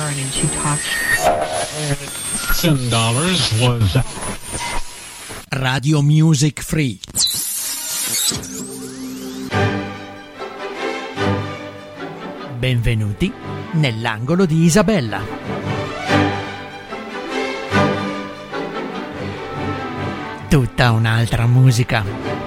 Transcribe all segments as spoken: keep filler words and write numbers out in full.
starting to talk. ten dollars was Radio Music Free. Benvenuti nell'angolo di Isabella. Tutta un'altra musica.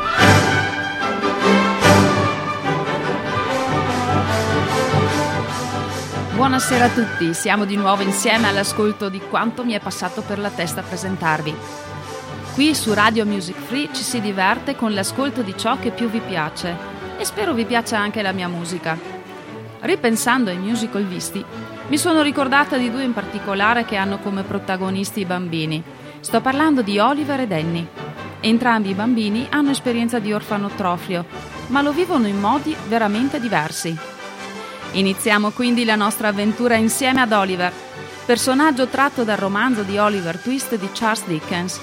Buonasera a tutti, siamo di nuovo insieme all'ascolto di quanto mi è passato per la testa a presentarvi. Qui su Radio Music Free ci si diverte con l'ascolto di ciò che più vi piace e spero vi piaccia anche la mia musica. Ripensando ai musical visti, mi sono ricordata di due in particolare che hanno come protagonisti i bambini. Sto parlando di Oliver e Danny. Entrambi i bambini hanno esperienza di orfanotrofio, ma lo vivono in modi veramente diversi. Iniziamo quindi la nostra avventura insieme ad Oliver, personaggio tratto dal romanzo di Oliver Twist di Charles Dickens.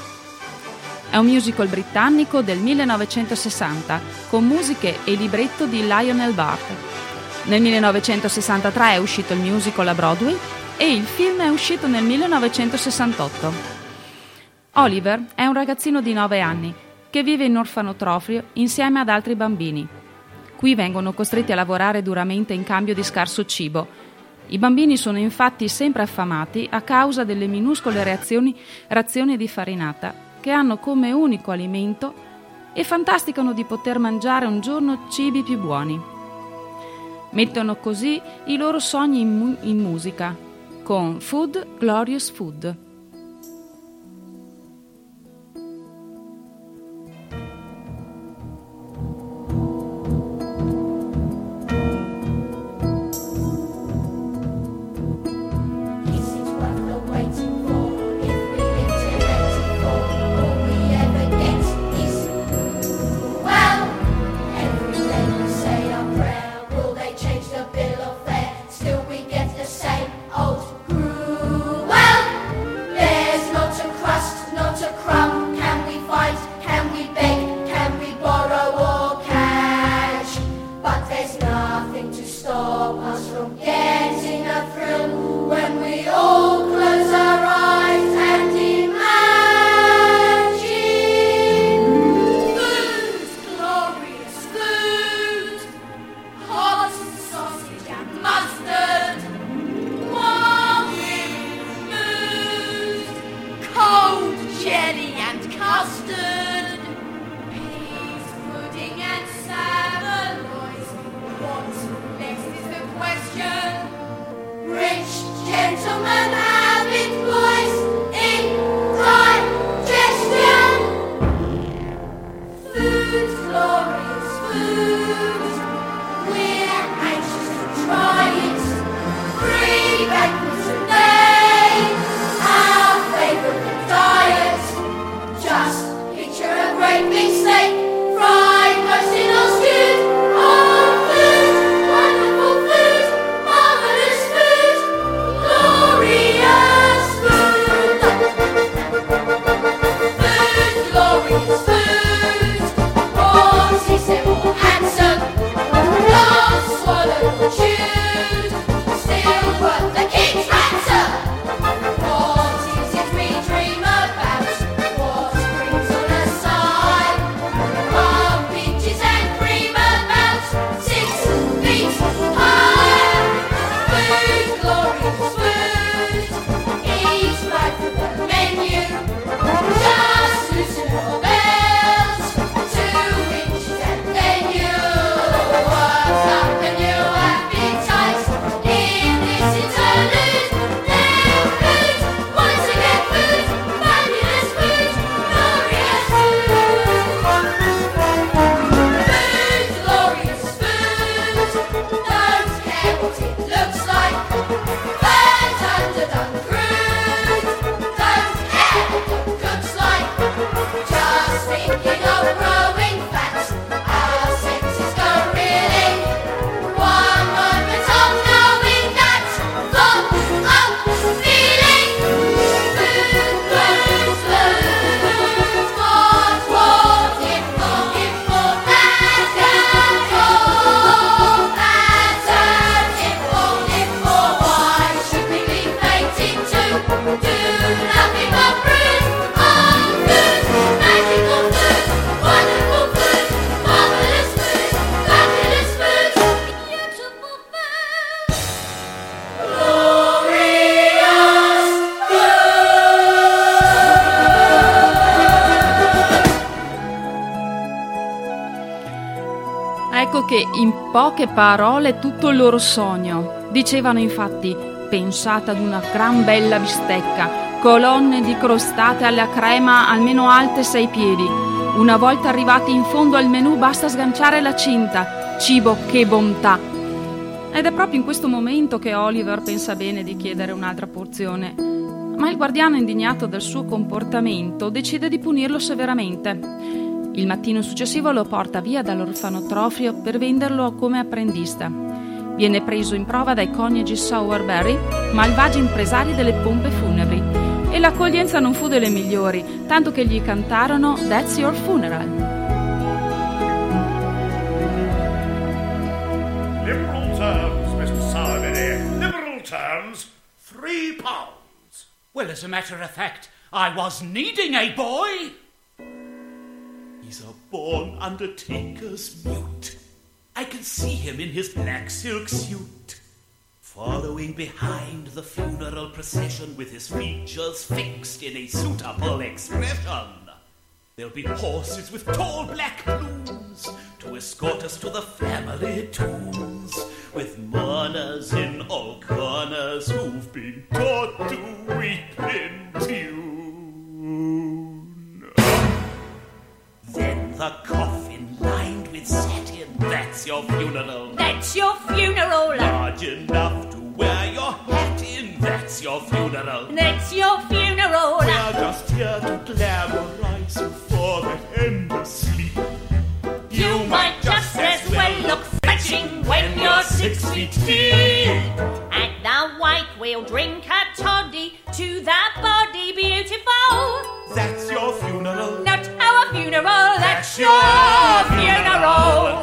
È un musical britannico del millenovecentosessanta, con musiche e libretto di Lionel Bart. Nel millenovecentosessantatré è uscito il musical a Broadway e il film è uscito nel millenovecentosessantotto. Oliver è un ragazzino di nove anni che vive in orfanotrofio insieme ad altri bambini. Qui vengono costretti a lavorare duramente in cambio di scarso cibo. I bambini sono infatti sempre affamati a causa delle minuscole reazioni, razioni di farinata che hanno come unico alimento e fantasticano di poter mangiare un giorno cibi più buoni. Mettono così i loro sogni in, mu- in musica con Food, Glorious Food. Gloria! che in poche parole tutto il loro sogno. Dicevano infatti: pensate ad una gran bella bistecca, colonne di crostate alla crema almeno alte sei piedi. Una volta arrivati in fondo al menù basta sganciare la cinta. Cibo, che bontà! Ed è proprio in questo momento che Oliver pensa bene di chiedere un'altra porzione. Ma il guardiano, indignato del suo comportamento, decide di punirlo severamente. Il mattino successivo lo porta via dall'orfanotrofio per venderlo come apprendista. Viene preso in prova dai coniugi Sowerberry, malvagi impresari delle pompe funebri, e l'accoglienza non fu delle migliori, tanto che gli cantarono That's Your Funeral. Liberal terms, mister Sowerberry. Liberal terms, three pounds. Well, as a matter of fact, I was needing a boy. He's a born undertaker's mute. I can see him in his black silk suit, following behind the funeral procession with his features fixed in a suitable expression. There'll be horses with tall black plumes to escort us to the family tombs, with mourners in all corners who've been taught to weep in tune. Then the coffin lined with satin, that's your funeral. That's your funeral. Large enough to wear your hat in, that's your funeral. That's your funeral. We're just here to glamorize you for that endless sleep. You might just as well look fetching when you're six feet deep. At the wake we'll drink a toddy to the body beautiful. That's your funeral. Not our funeral, that's your funeral.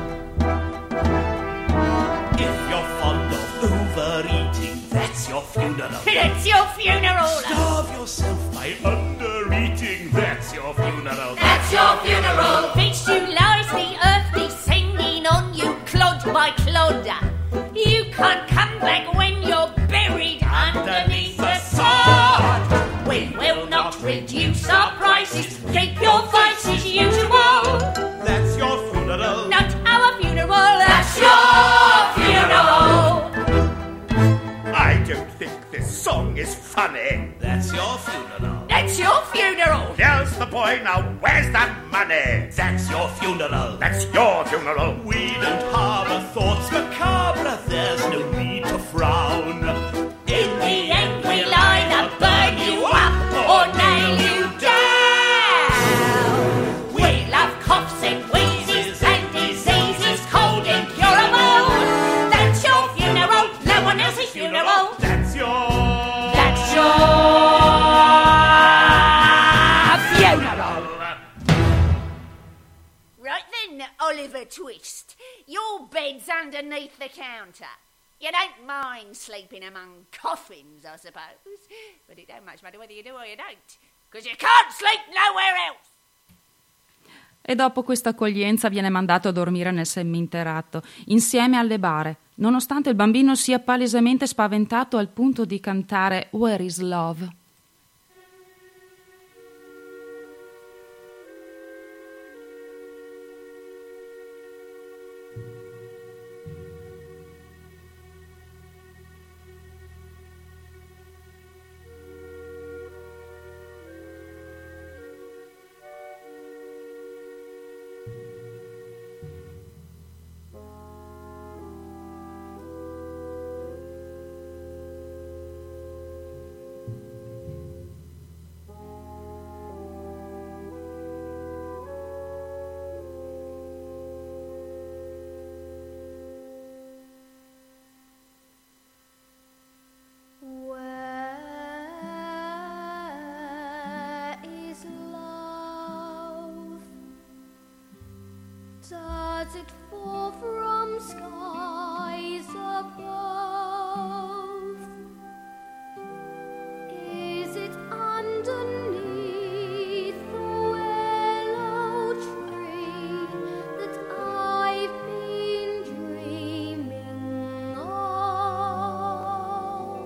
If you're fond of overeating, that's your funeral. That's your funeral. Starve yourself by undereating, that's your funeral. That's your funeral. Fix you lies the earth descending on you, clod by clod. You can't come back when you're buried underneath the sod. We will not reduce our prices. Keep your vices usual. That's your funeral. Not our funeral. That's your funeral. I don't think this song is funny. That's your funeral. That's your funeral. Here's the boy, now where's that money? That's your funeral. That's your funeral. We don't harbor thoughts macabre. There's no need to frown. In the end we'll either burn you up or nail you down. We'll have coughs and wheezes and diseases cold incurable. That's your funeral. No one else's funeral. That's your... That's your funeral. Right then, Oliver Twist. Your bed's underneath the counter. You don't mind sleeping among coffins, I suppose. But it don't much matter whether you do or you don't. Because you can't sleep nowhere else. E dopo questa accoglienza viene mandato a dormire nel seminterrato, insieme alle bare, nonostante il bambino sia palesemente spaventato al punto di cantare Where is Love? Does it fall from skies above? Is it underneath the willow tree that I've been dreaming of?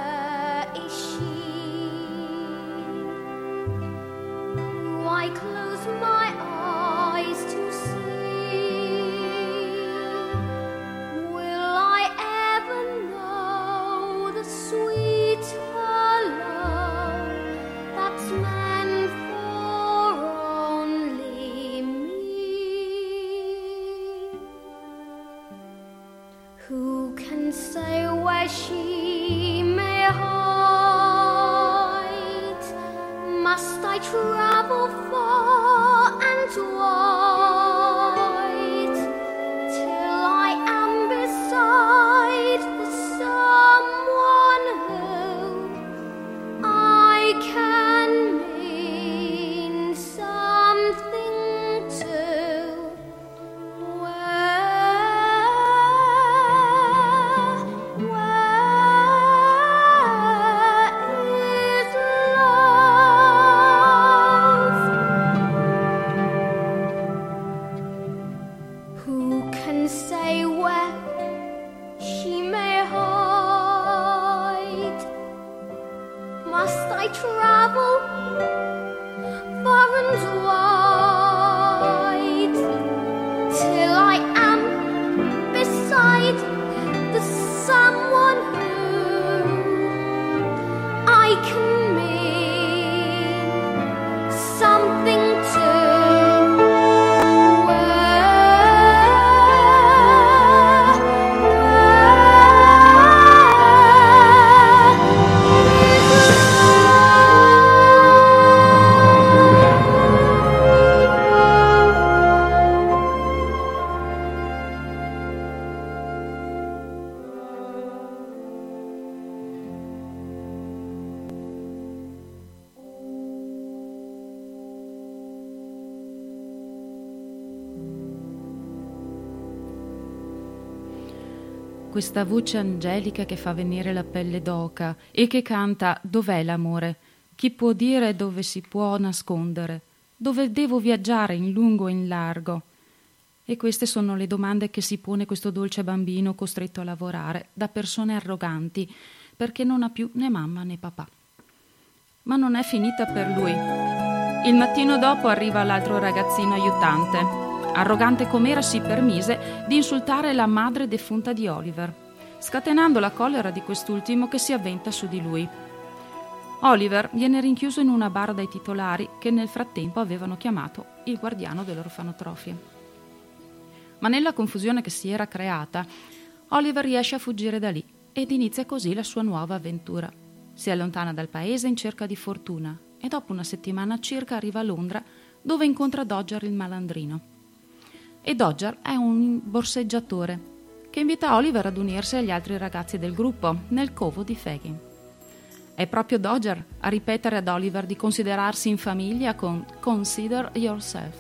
Where is she? I close travel far and wide till I am beside someone who I can mean something to. Where, where is love? Who can say where she may hide? Must I travel far and wide till I am beside the someone who I can mean something to? Questa voce angelica che fa venire la pelle d'oca e che canta «Dov'è l'amore? Chi può dire dove si può nascondere? Dove devo viaggiare in lungo e in largo?» E queste sono le domande che si pone questo dolce bambino costretto a lavorare da persone arroganti perché non ha più né mamma né papà. Ma non è finita per lui. Il mattino dopo arriva l'altro ragazzino aiutante. Arrogante com'era, si permise di insultare la madre defunta di Oliver, scatenando la collera di quest'ultimo che si avventa su di lui. Oliver viene rinchiuso in una bara dai titolari che nel frattempo avevano chiamato il guardiano dell'orfanotrofio. Ma nella confusione che si era creata, Oliver riesce a fuggire da lì ed inizia così la sua nuova avventura. Si allontana dal paese in cerca di fortuna e dopo una settimana circa arriva a Londra, dove incontra Dodger il malandrino. E Dodger è un borseggiatore che invita Oliver ad unirsi agli altri ragazzi del gruppo nel covo di Fagin. È proprio Dodger a ripetere ad Oliver di considerarsi in famiglia con Consider Yourself.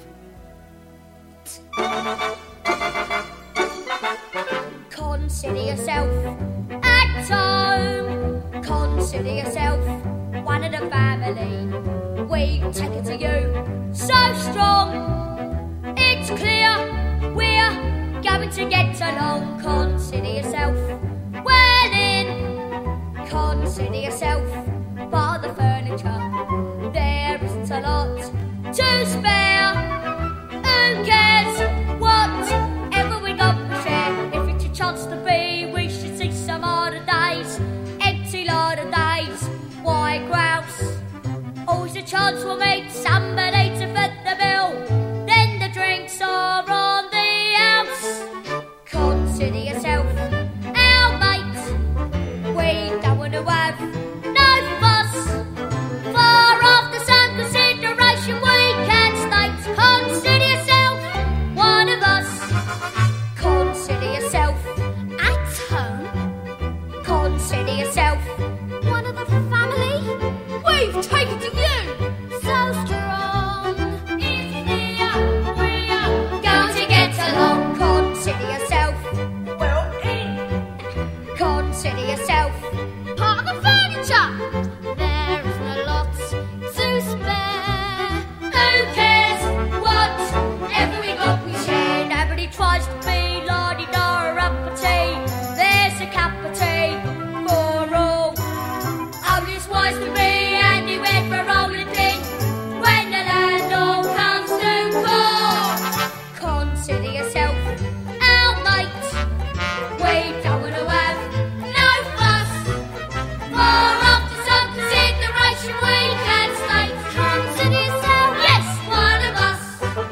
Consider yourself at home. Consider yourself one of the family. We take it to you so strong. It's clear we're going to get along. Consider yourself well in. Consider yourself by the furniture. There isn't a lot to spare. Who cares whatever we got to share? If it's a chance to be, we should see some other days. Empty lot of days, why grouse? Always a chance we'll meet somebody to foot the bill. Then the drinks are on the house. Consider yourself our mate. We don't want to have no fuss. Far off the sun consideration we can state. Consider yourself one of us. Consider yourself at home. Consider yourself one of the family. We've taken to you so strong. It's clear we are going to get along. Consider yourself well in. Consider yourself part of the furniture. There isn't a lot to spare. Who cares whatever we got we share? Nobody tries to be la-di-da uppity. There's a cup of tea for all. Oh, it's wise to be anywhere for rolling in when the landlord comes to call. Consider yourself our mate. We don't want to have no fuss. Far off to some consideration we can state. Consider yourself, yes, one of us.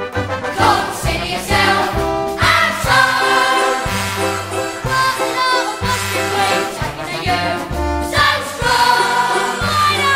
Consider yourself at home. What lot of us did we take to you? So strong, might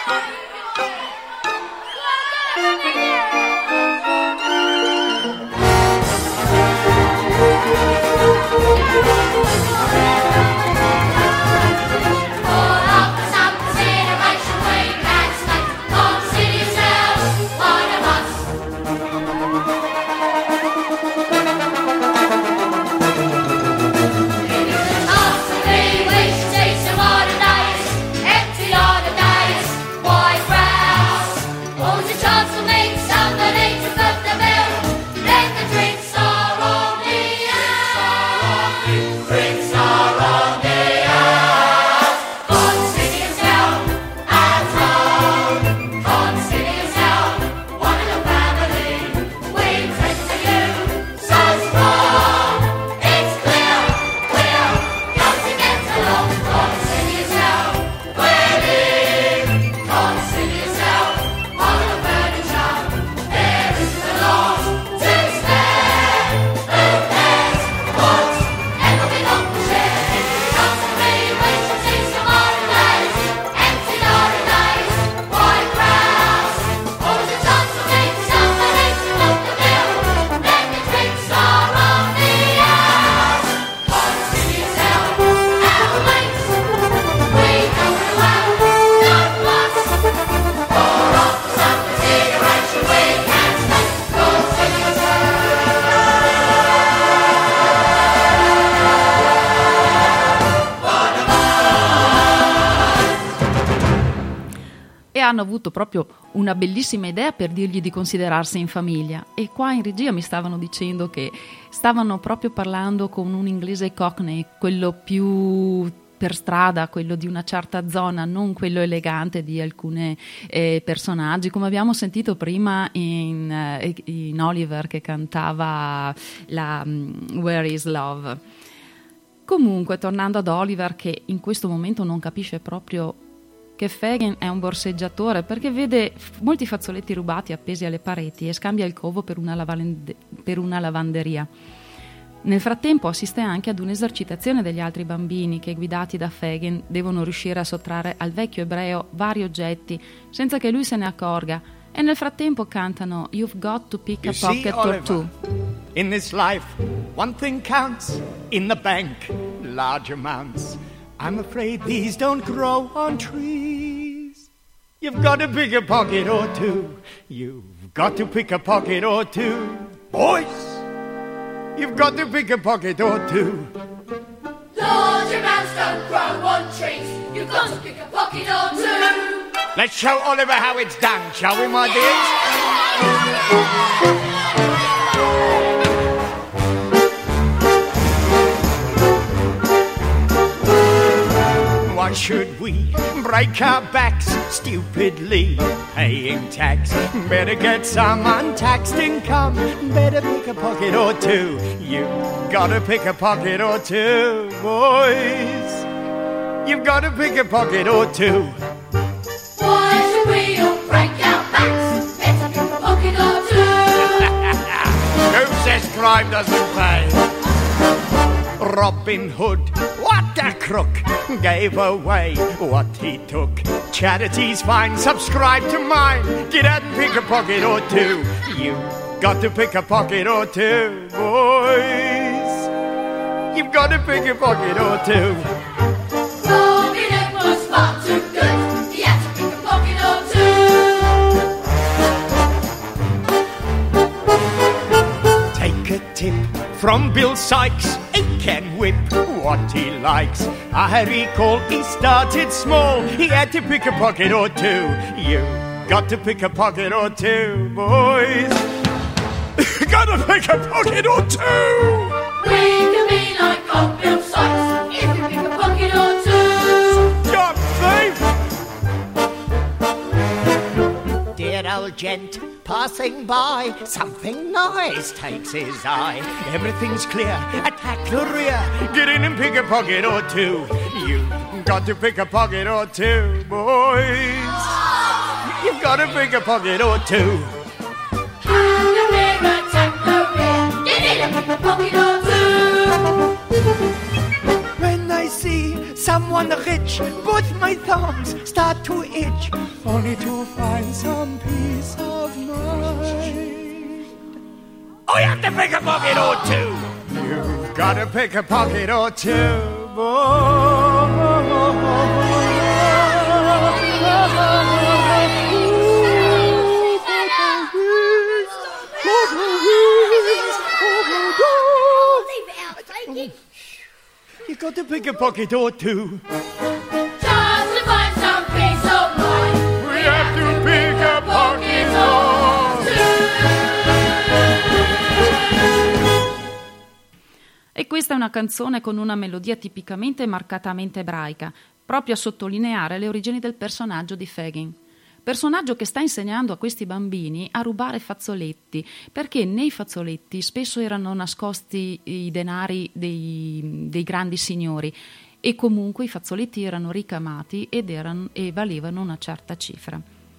Hanno avuto proprio una bellissima idea per dirgli di considerarsi in famiglia, e qua in regia mi stavano dicendo che stavano proprio parlando con un inglese cockney, quello più per strada, quello di una certa zona, non quello elegante di alcuni eh, personaggi, come abbiamo sentito prima in, eh, in Oliver che cantava la um, Where is Love. Comunque, tornando ad Oliver, che in questo momento non capisce proprio che Fagin è un borseggiatore, perché vede molti fazzoletti rubati appesi alle pareti e scambia il covo per una, lavande- per una lavanderia. Nel frattempo assiste anche ad un'esercitazione degli altri bambini che, guidati da Fagin, devono riuscire a sottrarre al vecchio ebreo vari oggetti senza che lui se ne accorga, e nel frattempo cantano You've got to pick a You pocket see, or Oliver, two. in this life, one thing counts in the bank, large amounts. I'm afraid these don't grow on trees. You've got to pick a pocket or two. You've got to pick a pocket or two. Boys, you've got to pick a pocket or two. Large amounts don't grow on trees. You've got to pick a pocket or two. Let's show Oliver how it's done, shall we, my dears? Why should we break our backs stupidly paying tax? Better get some untaxed income. Better pick a pocket or two. You've got to pick a pocket or two, boys. You've got to pick a pocket or two. Why should we all break our backs? Better pick a pocket or two. Who says crime doesn't pay? Robin Hood, what a crook, gave away what he took. Charity's fine, subscribe to mine. Get out and pick a pocket or two. You've got to pick a pocket or two, boys. You've got to pick a pocket or two. Robin Hood was far too good. He had to pick a pocket or two. Take a tip from Bill Sykes. He can whip what he likes. I recall he started small. He had to pick a pocket or two. You got to pick a pocket or two, boys. Got to pick a pocket or two. We can be like old Bill Sykes if we pick a pocket or two. God save! Dear old gent passing by, something nice takes his eye. Everything's clear, attack the rear. Get in and pick a pocket or two. You got to pick a pocket or two, boys. You've got to pick a pocket or two. And the rear attack the rear. Get in and pick a pocket or two. When they see someone rich, both my thumbs start to itch, only to find some peace of mind. I have to pick a pocket or two. You've got to pick a pocket or two, boy. You got to pick a pocket or two. Just to find some peace of mind. We have to pick a pocket or two. E questa è una canzone con una melodia tipicamente marcatamente ebraica, proprio a sottolineare le origini del personaggio di Fagin. Personaggio che sta insegnando a questi bambini a rubare fazzoletti, perché nei fazzoletti spesso erano nascosti i denari dei, dei grandi signori e comunque i fazzoletti erano ricamati ed erano, e valevano una certa cifra.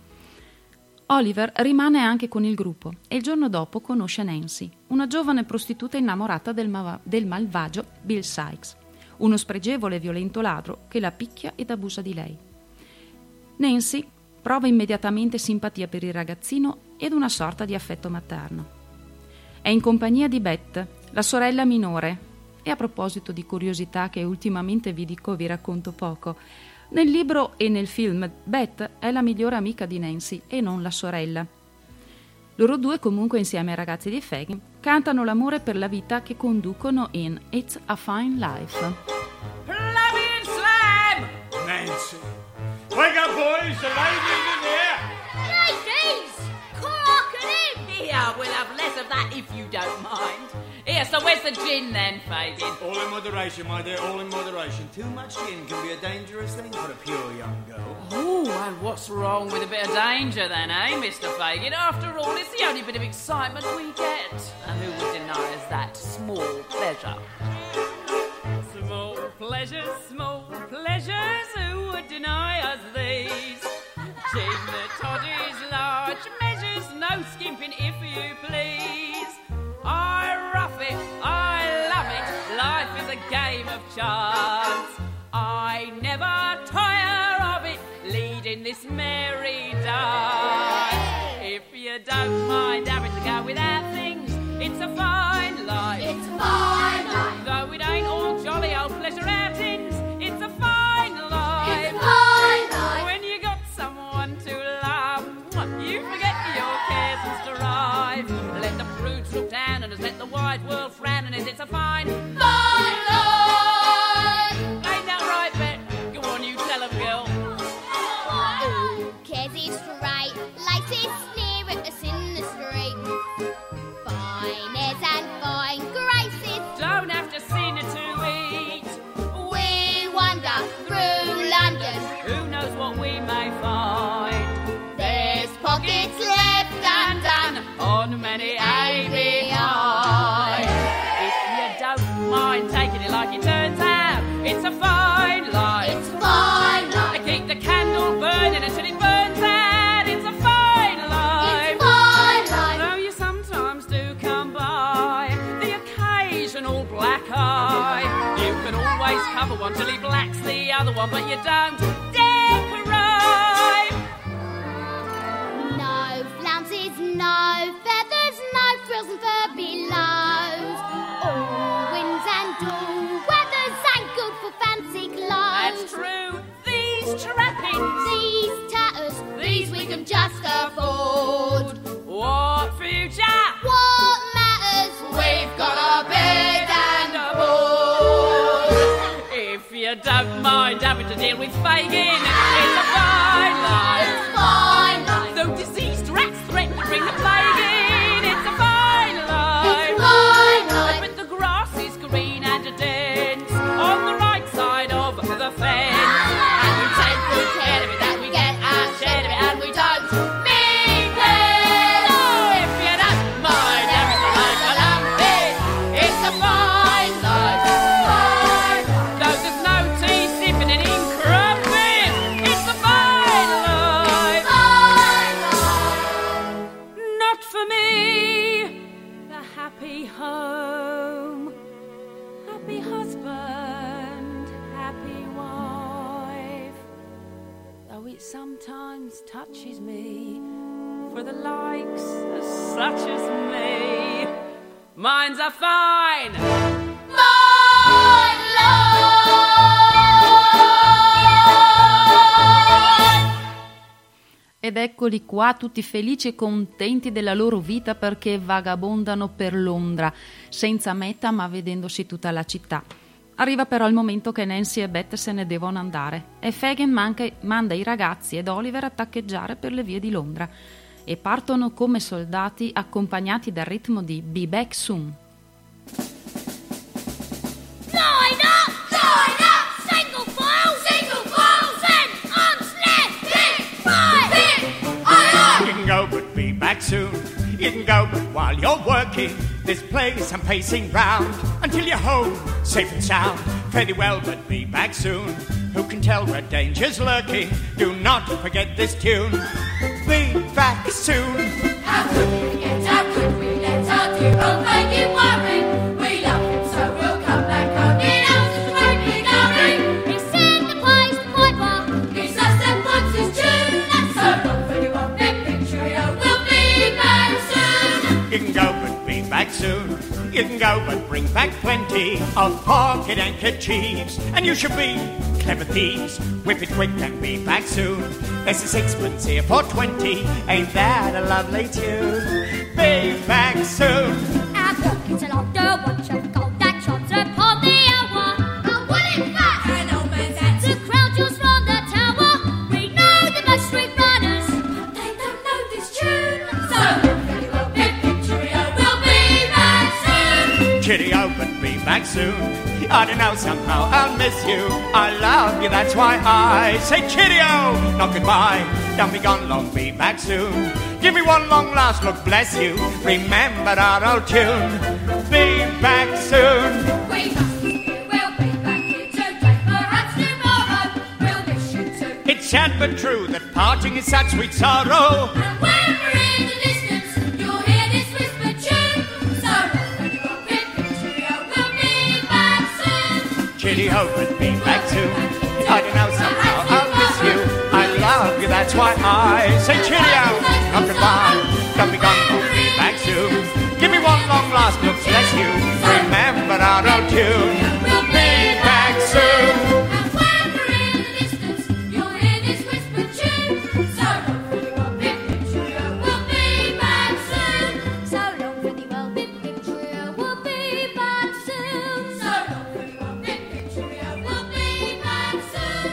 Oliver rimane anche con il gruppo e il giorno dopo conosce Nancy, una giovane prostituta innamorata del, ma- del malvagio Bill Sikes, uno spregevole e violento ladro che la picchia ed abusa di lei. Nancy prova immediatamente simpatia per il ragazzino ed una sorta di affetto materno. È in compagnia di Beth, la sorella minore, e a proposito di curiosità che ultimamente vi dico, vi racconto poco. Nel libro e nel film Beth è la migliore amica di Nancy e non la sorella. Loro due, comunque insieme ai ragazzi di Fagin, cantano l'amore per la vita che conducono in It's a Fine Life. Flavian Slam! Nancy. Wake up, boys. The ladies in here. Ladies! Corking in! Here, we'll have less of that if you don't mind. Here, so where's the gin then, Fagin? All in moderation, my dear, all in moderation. Too much gin can be a dangerous thing for a pure young girl. Oh, and what's wrong with a bit of danger then, eh, Mister Fagin? After all, it's the only bit of excitement we get. And who would deny us that small pleasure? Small pleasures, small pleasures, who would deny us these? Gin the toddies, large measures, no skimping if you please. I rough it, I love it, life is a game of chance. I never tire of it, leading this merry dance. If you don't mind having to go without things, it's a fine life. It's a fine life. Though it ain't all jolly old pleasure outings, it's a fine life. It's a fine life. When you got someone to love, you forget your cares and strive. Let the prudes look down and just let the wide world frown, and it's a fine, Fine life. ain't that right, Bet? Go on, you tell 'em, girl. Who cares if straight laces sneer at us in the street? Fine airs and fine graces, Don't have to sin to eat. we wander through London. Who knows what we may find? There's pockets left undone On many a behind. If you don't mind taking it like it turns out, it's a fine life. It's a fine I life. keep the candle burning until it burns out. It's a fine life. It's a fine life. Though you sometimes do come by the occasional black eye, you can always cover one till he blacks the other one, but you don't dare cry. No flounces, no feathers, no frills and fur belows. All winds and all weathers ain't good for fancy That's clothes. true. These trappings, These tatters, these we can just afford. what future? What matters? We've got a bed and a board. If you don't mind having to deal with Fagin, it's a fine life. It's fine life. Though diseased rats threaten to bring the plague in, it's a fine life. It's fine life. But the grass is green and dense on the right side of the fence, and we take good care of it that we get our share of it, and we don't mean it. So if you don't mind having to like a lumpy, it's a fine life. Though there's no tea sipping and ink crumping, it's a fine sometimes touches me for the likes of such as me. Minds are fine. My love! Ed eccoli qua tutti felici e contenti della loro vita perché vagabondano per Londra, senza meta ma vedendosi tutta la città. Arriva però il momento che Nancy e Beth se ne devono andare e Fagin manca, manda i ragazzi ed Oliver a taccheggiare per le vie di Londra e partono come soldati accompagnati dal ritmo di Be Back Soon. Line up! Line up! Single file! Single file! Send arms left! Hit! Right! Hit! Aye, aye! You can go but be back soon. You can go but while you're working this place I'm pacing round until you're home, safe and sound. Fairly well, but be back soon. Who can tell where danger's lurking? Do not forget this tune. Be back soon. How could we forget? How could we let our dear old Fagin worry? We love him so we'll come back home. It else is totally going. He said the pies the piper. He's us and what's his tune? That's so long for you on big picture. We'll be back soon. You can go but be back soon. You can go but bring back plenty of pocket handkerchiefs. And you should be clever thieves. Whip it quick and be back soon. There's a sixpence here for twenty. Ain't that a lovely tune? Be back soon. Our pockets are locked, the watch of gold that trots upon the hour. And what in fact? An old man's hat. The crowd just from the tower. We know the best street runners. They don't know this tune. So very well, big picture. We'll be back soon. Cheerio, but be back soon. I don't know, somehow I'll miss you. I love you, that's why I say cheerio, not goodbye. Don't be gone long, be back soon. Give me one long last look, bless you. Remember our old tune. Be back soon. We must be here. We'll be back here today, perhaps tomorrow. We'll miss you too. It's sad but true that parting is such sweet sorrow. And when we're in the distance, you'll hear this whisper tune. So very well, big picture. We'll be back soon. Cheerio, but be back soon. I don't know, somehow I'll miss you. I love you, that's why I say cheerio, not goodbye. Don't be gone, don't be back soon. Give me one long last look, bless you. Remember our old tune. We'll Be back soon. And when we're in the distance, you'll hear this whisper tune. So long for the world, big picture. We'll be back soon. So long for the world, big picture. We'll be back soon. So long for the world, big picture. We'll be back soon.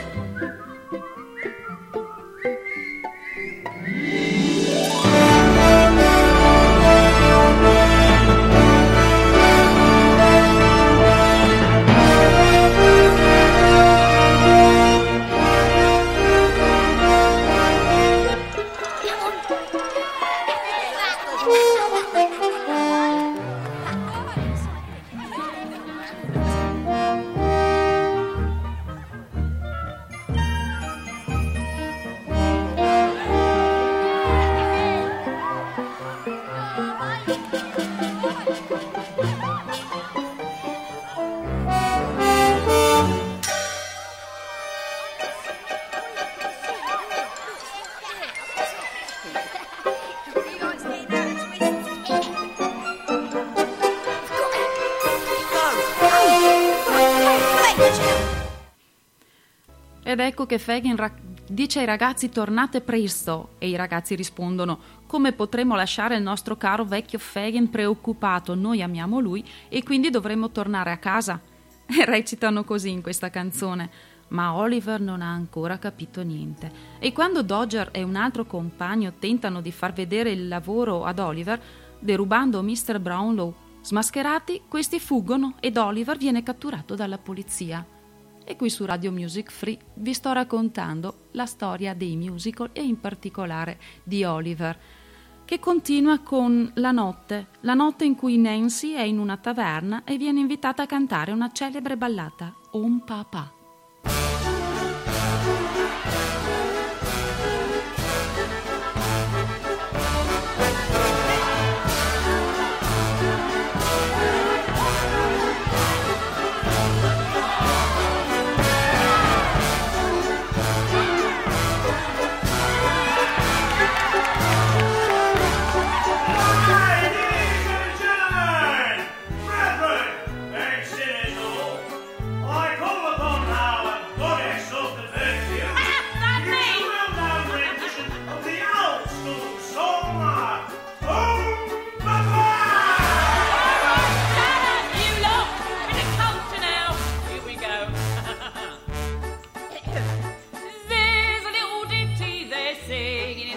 Ed ecco che Fagin ra- dice ai ragazzi tornate presto e i ragazzi rispondono come potremo lasciare il nostro caro vecchio Fagin preoccupato, noi amiamo lui e quindi dovremmo tornare a casa. E recitano così in questa canzone, ma Oliver non ha ancora capito niente. E quando Dodger e un altro compagno tentano di far vedere il lavoro ad Oliver, derubando mister Brownlow smascherati, questi fuggono ed Oliver viene catturato dalla polizia. E qui su Radio Music Free vi sto raccontando la storia dei musical e in particolare di Oliver, che continua con la notte, la notte in cui Nancy è in una taverna e viene invitata a cantare una celebre ballata, On Papa.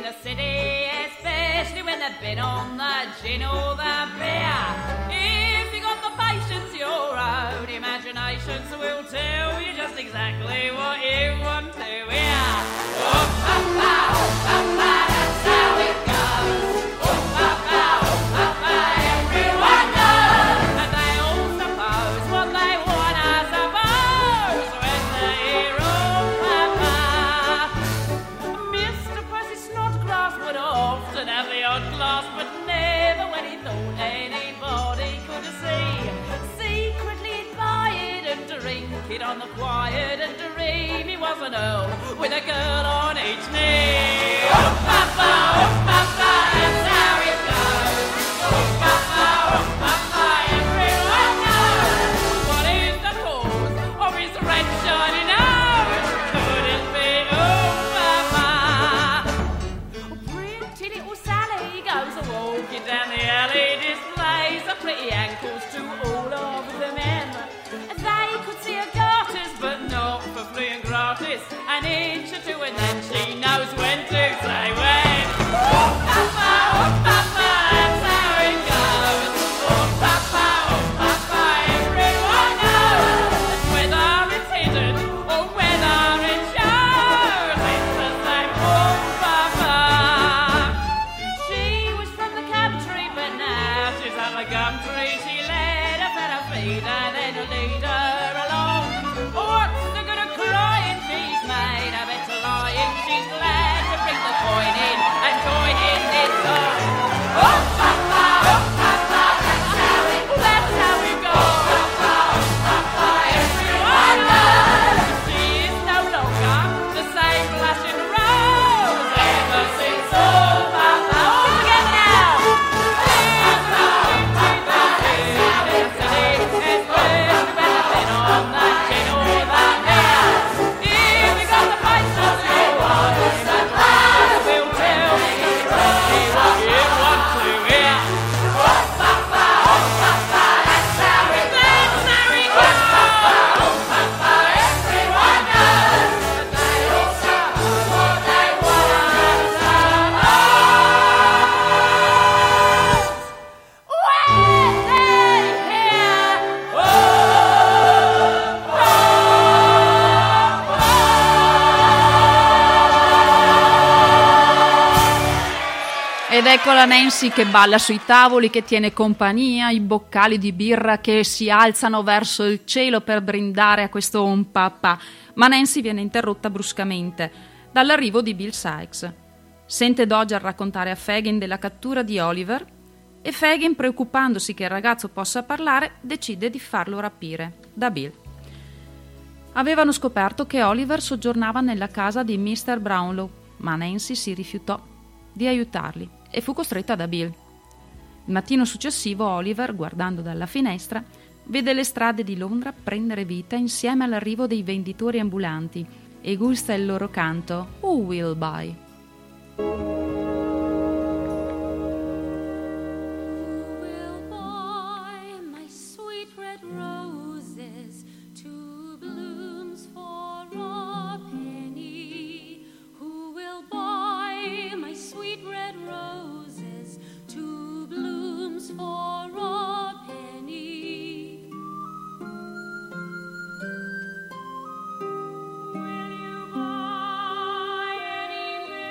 the city, especially when they've been on the gin or the beer. If you got the patience, your own imaginations will tell you just exactly what you want to hear. Oh, papa, oh, papa, that's how it goes. Oh, papa, oh, papa, everyone knows. And they all suppose what they want, I suppose, when they hear oh, papa. Mister Percy Snodgrass would often have the odd glass, but never when he thought anybody could see. Secretly he'd buy it and drink it on the quiet and dream he was an earl with a girl on each knee. Oh, papa, oh, papa, that's how it goes. Oh, papa, oh, papa, everyone knows. What is the cause of his red shiny nose? Could it be, oh, papa? Oh, pretty little Sally goes a-walking down the alley, displays her pretty ankles to all of the men. They could see her garters, but not for free and gratis. An inch or two, and then she knows when to say when. Oh, papa, oh, papa, that's how it goes. Oh, papa, oh, papa, everyone knows. And whether it's hidden or whether it shows, it's the same. Oh, papa. She was from the country, but now she's at the gumtree. She led her better feed and then lead her along. What's the good of crying? She's made a better lying. She's glad to bring the coin in and join in this song. Oh, papa, oh, papa, that's how it goes. That's how it goes. Oh, papa, oh, papa, everyone knows. She is no longer the same blushing rose ever since oh, papa. All together now. She's moving to the city, especially when they've been on the gin or the beer. If you got the patience, you want to supply. We'll tell you exactly what you want to hear. Oh, papa, oh, papa, that's how it goes. That's how it goes. Oh, papa, everyone knows. But they also know what they want to suppose. When they hear Ed ecco la Nancy che balla sui tavoli, che tiene compagnia, i boccali di birra che si alzano verso il cielo per brindare a questo un papà. Ma Nancy viene interrotta bruscamente dall'arrivo di Bill Sikes. Sente Dodger raccontare a Fagin della cattura di Oliver e Fagin, preoccupandosi che il ragazzo possa parlare, decide di farlo rapire da Bill. Avevano scoperto che Oliver soggiornava nella casa di mister Brownlow, ma Nancy si rifiutò di aiutarli e fu costretta da Bill. Il mattino successivo Oliver, guardando dalla finestra, vede le strade di Londra prendere vita insieme all'arrivo dei venditori ambulanti e gusta il loro canto Who Will Buy? Will you buy any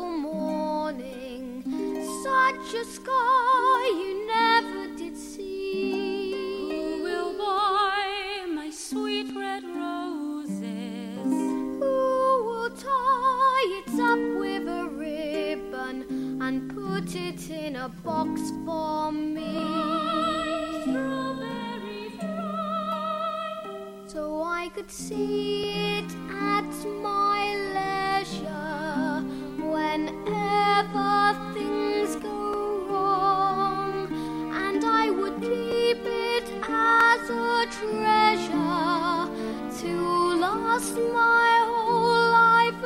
morning, such a sky you never did see. Who will buy my sweet red roses? Who will tie it up with a ribbon and put it in a box for me? Strawberries ripe, so I could see it at my leisure whenever things go wrong, and I would keep it as a treasure to last my whole life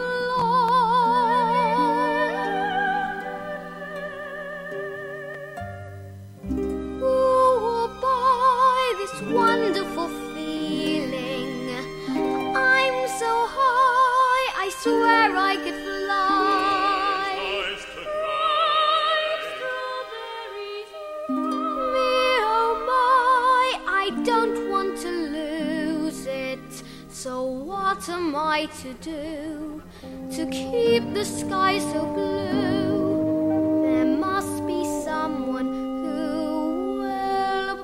long. Who will buy this wonderful feeling? I'm so high, I swear I could fly. Me, oh my, I don't want to lose it. So what am I to do to keep the sky so blue? There must be someone who will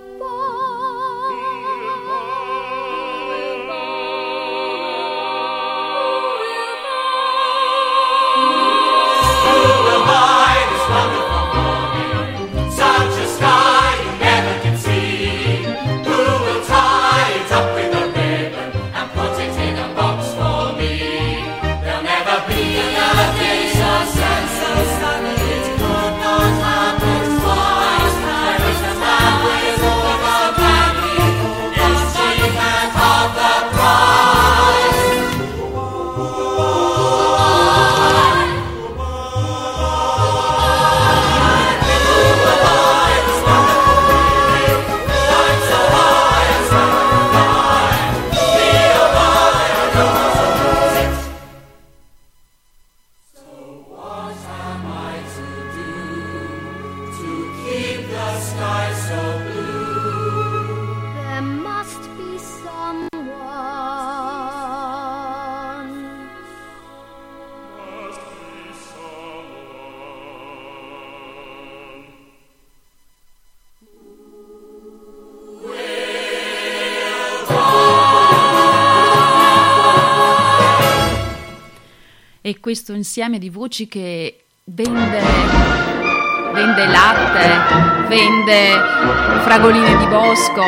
E questo insieme di voci che vende, vende latte, vende fragoline di bosco,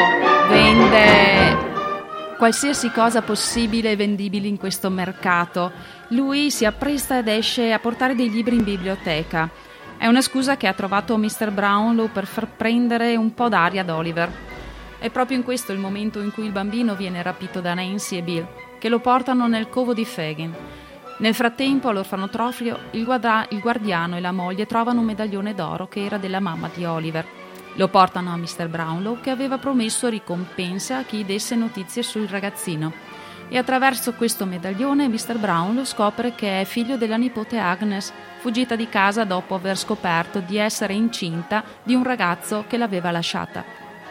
vende qualsiasi cosa possibile e vendibile in questo mercato. Lui si appresta ed esce a portare dei libri in biblioteca. È una scusa che ha trovato mister Brownlow per far prendere un po' d'aria ad Oliver. È proprio in questo il momento in cui il bambino viene rapito da Nancy e Bill, che lo portano nel covo di Fagin. Nel frattempo, all'orfanotrofio, il, guarda- il guardiano e la moglie trovano un medaglione d'oro che era della mamma di Oliver. Lo portano a mister Brownlow, che aveva promesso ricompense a chi desse notizie sul ragazzino. E attraverso questo medaglione mister Brownlow scopre che è figlio della nipote Agnes, fuggita di casa dopo aver scoperto di essere incinta di un ragazzo che l'aveva lasciata.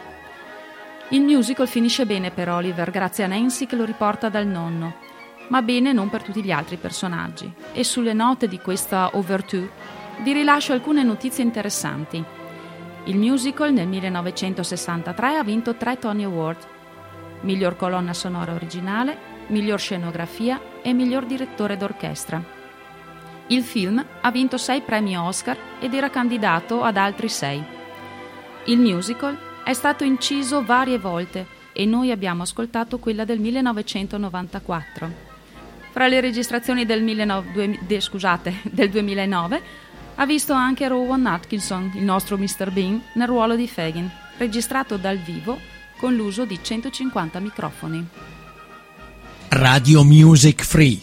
Il musical finisce bene per Oliver, grazie a Nancy che lo riporta dal nonno. Ma bene non per tutti gli altri personaggi. E sulle note di questa overture vi rilascio alcune notizie interessanti. Il musical nel millenovecentosessantatré ha vinto tre Tony Award: miglior colonna sonora originale, miglior scenografia e miglior direttore d'orchestra. Il film ha vinto sei premi Oscar ed era candidato ad altri sei. Il musical è stato inciso varie volte e noi abbiamo ascoltato quella del millenovecentonovantaquattro. Fra le registrazioni del, millenovecento, de, scusate, del duemilanove ha visto anche Rowan Atkinson, il nostro mister Bean, nel ruolo di Fagin, registrato dal vivo con l'uso di centocinquanta microfoni. Radio Music Free.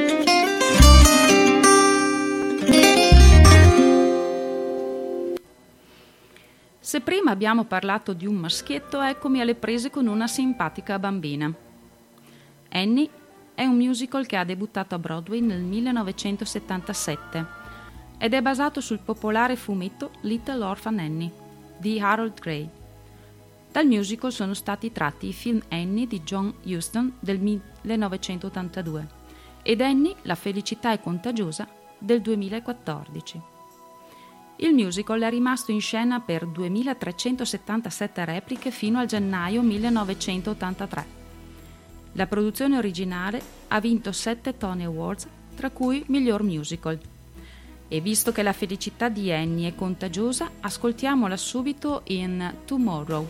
Se prima abbiamo parlato di un maschietto, eccomi alle prese con una simpatica bambina. Annie è un musical che ha debuttato a Broadway nel millenovecentosettantasette ed è basato sul popolare fumetto Little Orphan Annie di Harold Gray. Dal musical sono stati tratti i film Annie di John Huston del millenovecentottantadue ed Annie, la felicità è contagiosa del duemilaquattordici. Il musical è rimasto in scena per duemilatrecentosettantasette repliche fino al gennaio millenovecentottantatré. La produzione originale ha vinto sette Tony Awards, tra cui miglior musical. E visto che la felicità di Annie è contagiosa, ascoltiamola subito in Tomorrow.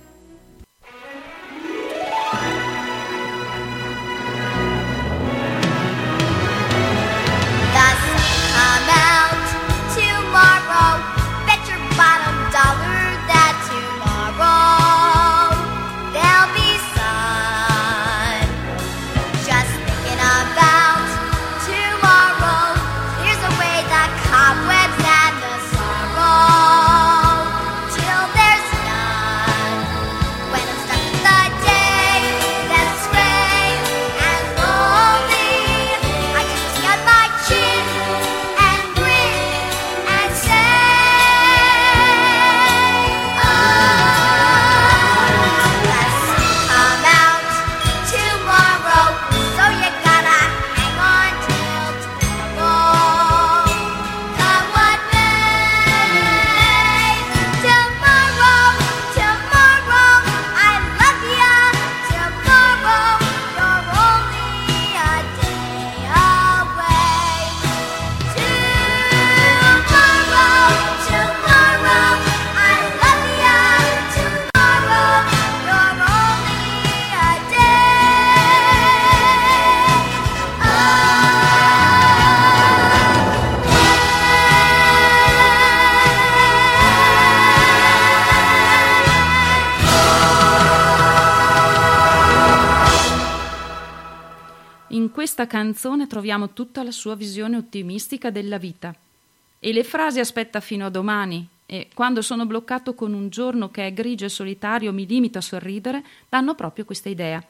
In questa canzone troviamo tutta la sua visione ottimistica della vita. E le frasi "aspetta fino a domani" e "quando sono bloccato con un giorno che è grigio e solitario mi limito a sorridere" danno proprio questa idea.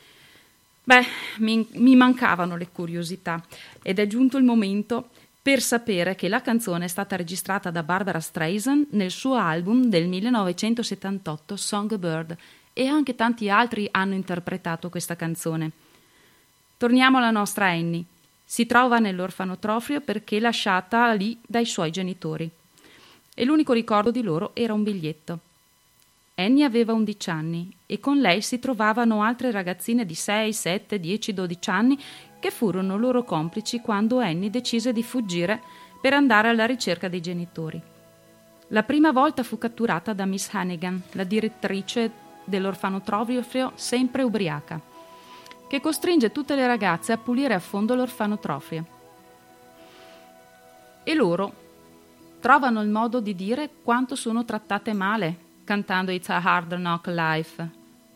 Beh, mi, mi mancavano le curiosità ed è giunto il momento per sapere che la canzone è stata registrata da Barbara Streisand nel suo album del millenovecentosettantotto Songbird, e anche tanti altri hanno interpretato questa canzone. Torniamo alla nostra Annie. Si trova nell'orfanotrofio perché lasciata lì dai suoi genitori. E l'unico ricordo di loro era un biglietto. Annie aveva undici anni e con lei si trovavano altre ragazzine di sei, sette, dieci, dodici anni che furono loro complici quando Annie decise di fuggire per andare alla ricerca dei genitori. La prima volta fu catturata da Miss Hannigan, la direttrice dell'orfanotrofio sempre ubriaca, che costringe tutte le ragazze a pulire a fondo l'orfanotrofio. E loro trovano il modo di dire quanto sono trattate male, cantando It's a Hard Knock Life.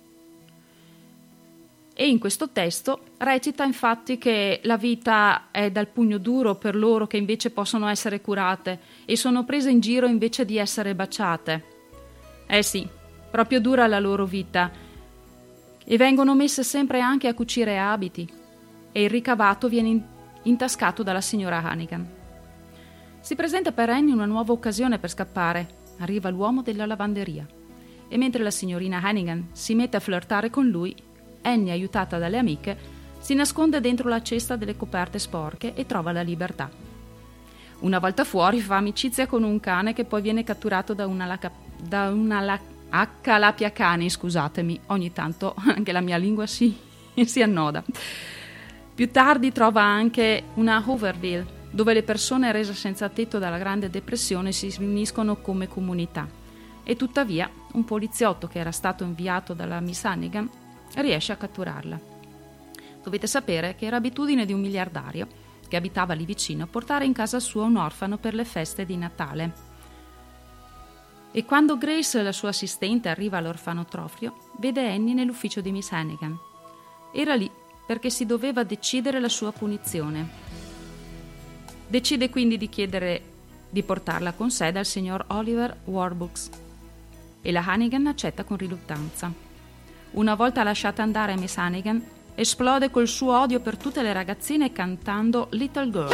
E in questo testo recita infatti che la vita è dal pugno duro per loro che invece possono essere curate e sono prese in giro invece di essere baciate. Eh sì, proprio dura la loro vita. E vengono messe sempre anche a cucire abiti e il ricavato viene intascato dalla signora Hannigan. Si presenta per Annie una nuova occasione per scappare. Arriva l'uomo della lavanderia e mentre la signorina Hannigan si mette a flirtare con lui, Annie, aiutata dalle amiche, si nasconde dentro la cesta delle coperte sporche e trova la libertà. Una volta fuori fa amicizia con un cane che poi viene catturato da una, laca, da una la, accalapiacani, scusatemi, ogni tanto anche la mia lingua si, si annoda. Più tardi trova anche una Hooverville, dove le persone rese senza tetto dalla Grande Depressione si riuniscono come comunità. E tuttavia un poliziotto che era stato inviato dalla Miss Hannigan riesce a catturarla. Dovete sapere che era abitudine di un miliardario che abitava lì vicino portare in casa sua un orfano per le feste di Natale. E quando Grace, la sua assistente, arriva all'orfanotrofio, vede Annie nell'ufficio di Miss Hannigan. Era lì perché si doveva decidere la sua punizione. Decide quindi di chiedere di portarla con sé dal signor Oliver Warbucks e la Hannigan accetta con riluttanza. Una volta lasciata andare Miss Hannigan, esplode col suo odio per tutte le ragazzine cantando Little Girls.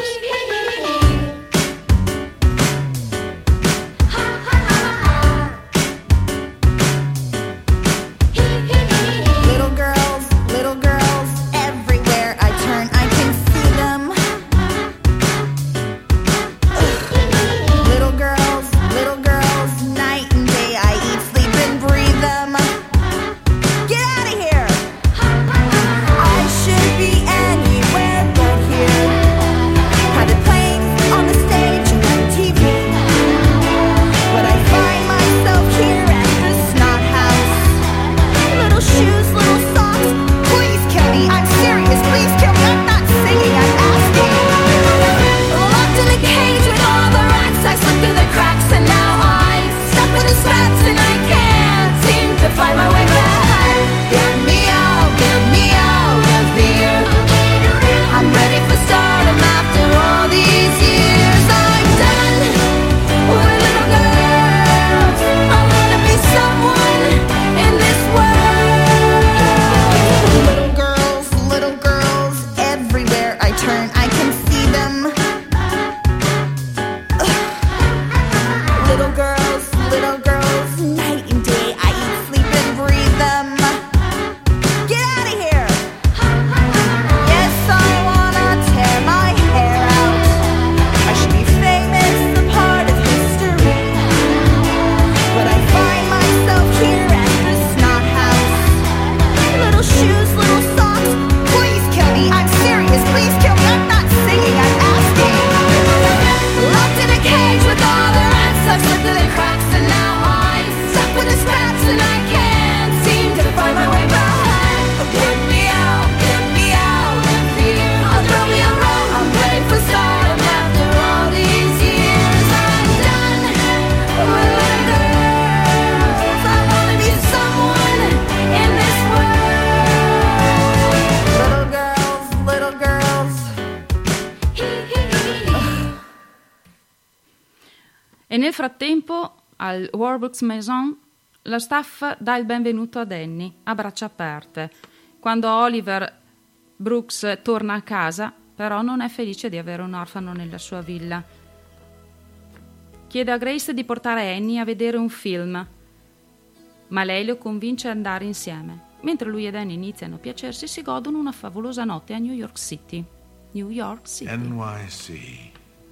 E nel frattempo al Warburg's Maison la staff dà il benvenuto ad Annie a braccia aperte. Quando Oliver Brooks torna a casa, però non è felice di avere un orfano nella sua villa. Chiede a Grace di portare Annie a vedere un film, ma lei lo convince ad andare insieme. Mentre lui ed Annie iniziano a piacersi, si godono una favolosa notte a New York City. New York City. N Y C.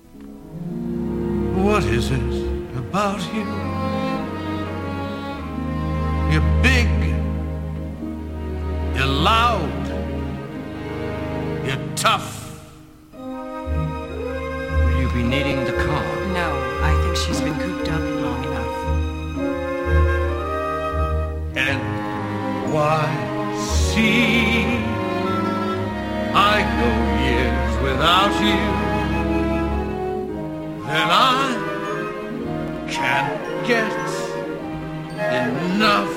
What is it about you? You're big. You're loud. You're tough. Will you be needing the car? No, I think she's been cooped up long enough. N Y C. I go years without you. Then I can't get enough.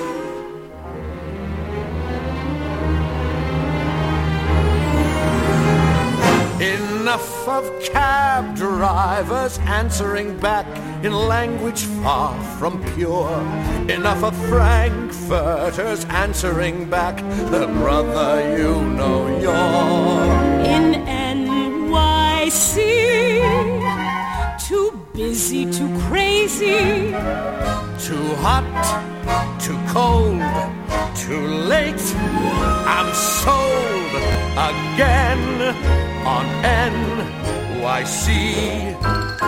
Enough of cab drivers answering back in language far from pure. Enough of frankfurters answering back the brother you know you're. In N Y C, too busy, too crazy, too hot, too cold, too late. I'm sold again on N Y C.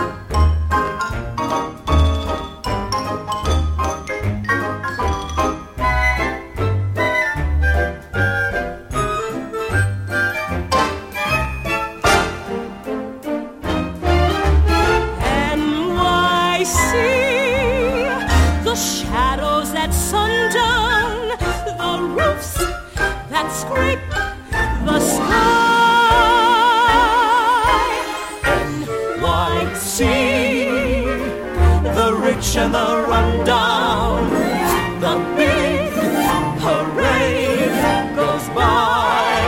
N Y C, the shadows at sundown, the roofs that scrape the sky. The rich and the rundown, the big parade goes by.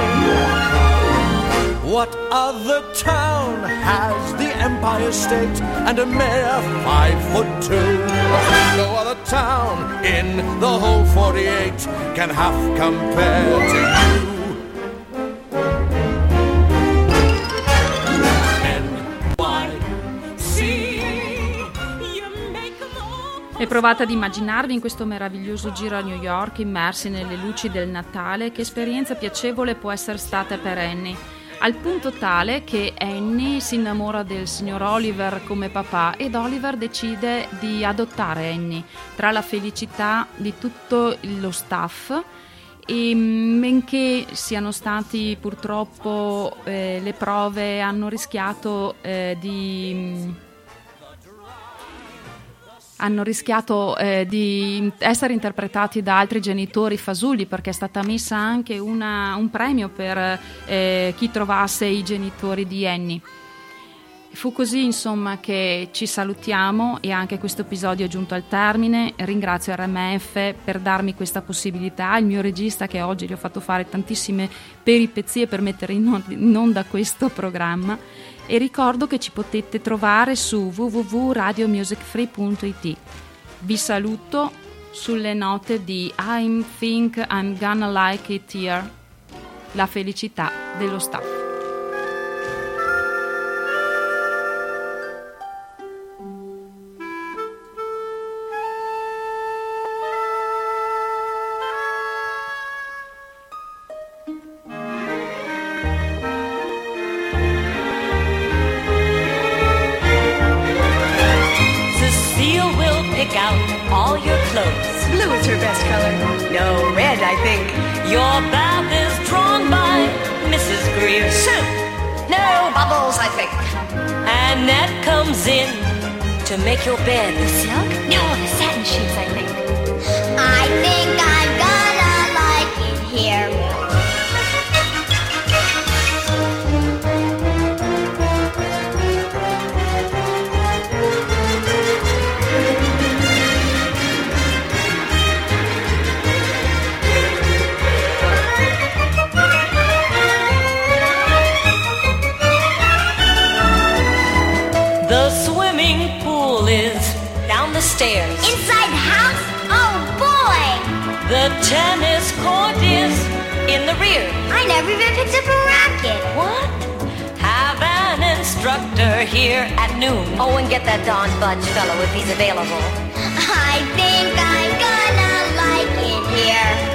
What other town has the Empire State and a mayor five foot two? No other town in the whole forty-eight can half compare to you. E provate ad immaginarvi in questo meraviglioso giro a New York, immersi nelle luci del Natale, che esperienza piacevole può essere stata per Annie, al punto tale che Annie si innamora del signor Oliver come papà ed Oliver decide di adottare Annie. Tra la felicità di tutto lo staff, e benché siano stati purtroppo eh, le prove hanno rischiato eh, di... hanno rischiato eh, di essere interpretati da altri genitori fasulli, perché è stata messa anche una, un premio per eh, chi trovasse i genitori di Annie. Fu così insomma che ci salutiamo e anche questo episodio è giunto al termine. Ringrazio R M F per darmi questa possibilità, il mio regista che oggi gli ho fatto fare tantissime peripezie per mettere in onda questo programma, e ricordo che ci potete trovare su w w w punto radio music free punto i t. Vi saluto sulle note di I think I'm gonna like it here, la felicità dello staff. All your clothes. Blue is her best color. No, red, I think. Your bath is drawn by Missus Greer. Soup. No, bubbles, I think. Annette comes in to make your bed. The silk? No, the satin sheets, I think. I think I'm gonna like it here. The swimming pool is down the stairs. Inside the house? Oh boy! The tennis court is in the rear. I never even picked up a racket. What? Have an instructor here at noon. Oh, and get that Don Budge fellow if he's available. I think I'm gonna like it here.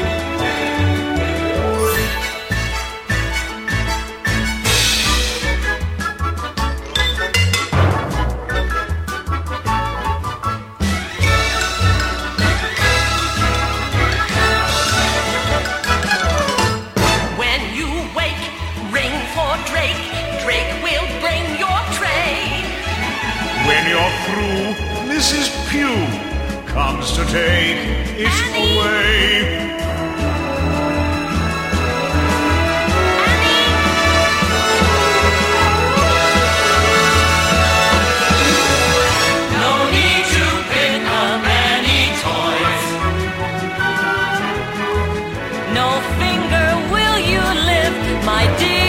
When you're through, Missus Pugh comes to take it Annie. away. No need to pick up any toys. No finger will you lift, my dear.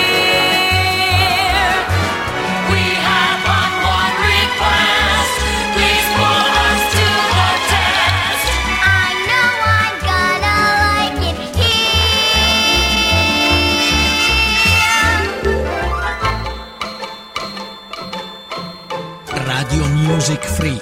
Radio Music Free.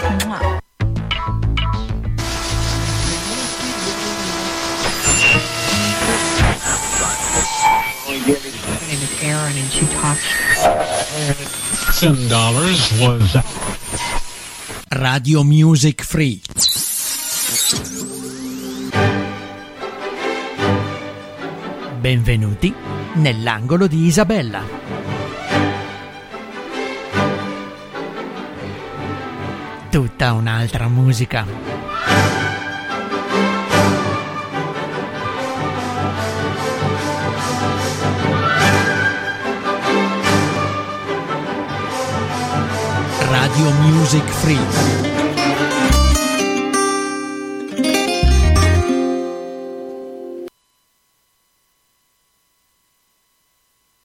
Aaron and she talks. Ten dollars was Radio Music Free. Benvenuti nell'angolo di Isabella. Tutta un'altra musica. Radio Music Free.